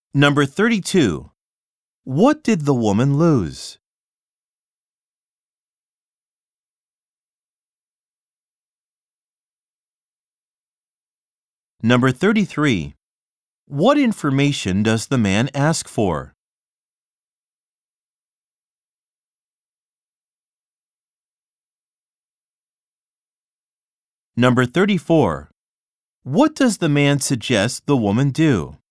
Number 32. What did the woman lose? Number 33. What information does the man ask for? Number 34. What does the man suggest the woman do?